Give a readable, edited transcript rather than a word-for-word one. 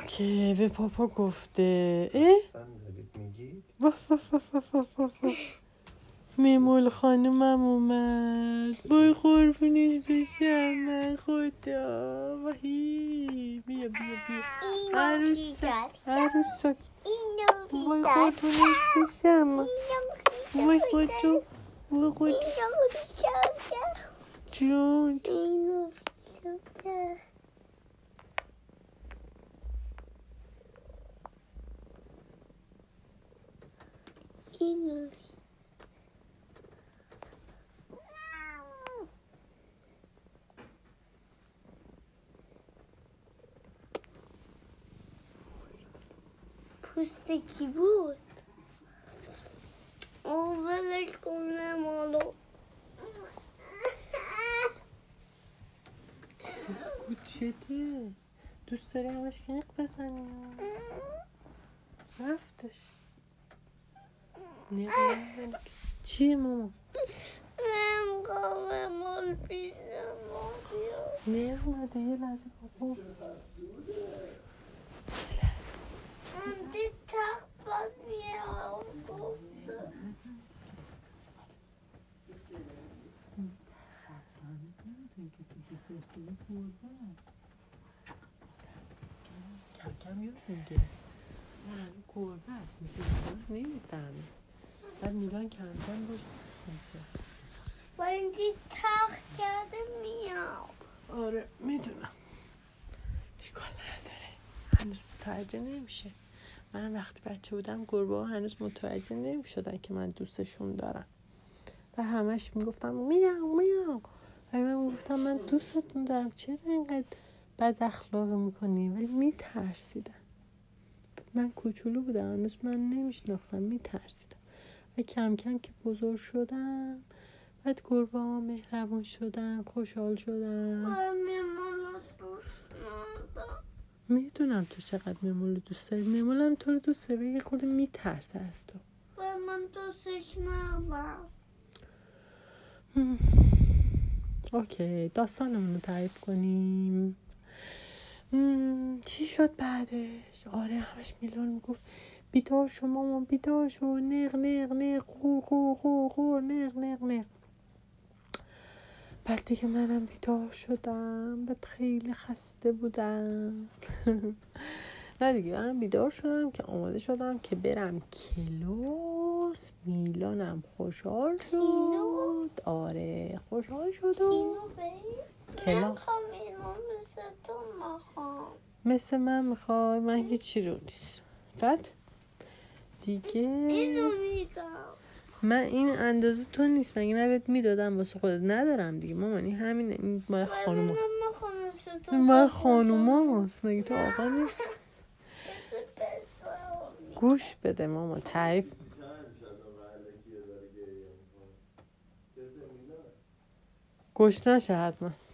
اوکی به پاپا گفته میمول خانومم اومد بای قربونش بشم من خدا وحی بیا عروسک بای قربونش بشم بای خودو جون پوست کی بود؟ ولش کنم مالو بسکوت شده دوست داری همش کنق بزنی رفتش نه چیه ماما؟ من قوام مال پیشم نه اومده یه لحظه بابا دی تخت باز میام کم یاد میگه نه گربه هست مثل نمیفهمه بعد میدان کم باش با این دی تخت کرده میام آره میدونم اشکال نداره هنوز متوجه نمیشه من وقتی بچه بودم گربه ها هنوز متوجه نمیشدن که من دوستشون دارم و همش میگفتم میام و من میگفتم من دوستتون دارم چرا اینقدر بد اخلاقی میکنی ولی میترسیدم من کوچولو بودم هنوز من نمیشناختم میترسیدم و کم کم که بزرگ شدم بعد گربه ها مهربون شدن خوشحال شدن میمونو دوست ندارم میدونم تو چقدر میمول دوست داری میمولم تو رو دوست داری یه خود میترسه از تو من دوستش ندارم اوکی داستانمون رو تعریف کنیم چی شد بعدش آره همش میلان میگفت بیدار شو مامان بیدار شو نق غور نق بعد دیگه منم بیدار شدم بعد خیلی خسته بودم نه دیگه من بیدار شدم که آماده شدم که برم کلاس میلانم خوشحال شد آره خوشحال شد و کلاس مثل من میخوای من هیچی رو نیست بعد دیگه اینو میگم من این اندازه تو نیست مگه نبت میدادم واسه خودت ندارم دیگه مامانی همین این مال خانوم هست این مال خانوم هست مگه تو آقا نیست گوش بده ماما تعریف گوش نشه حتما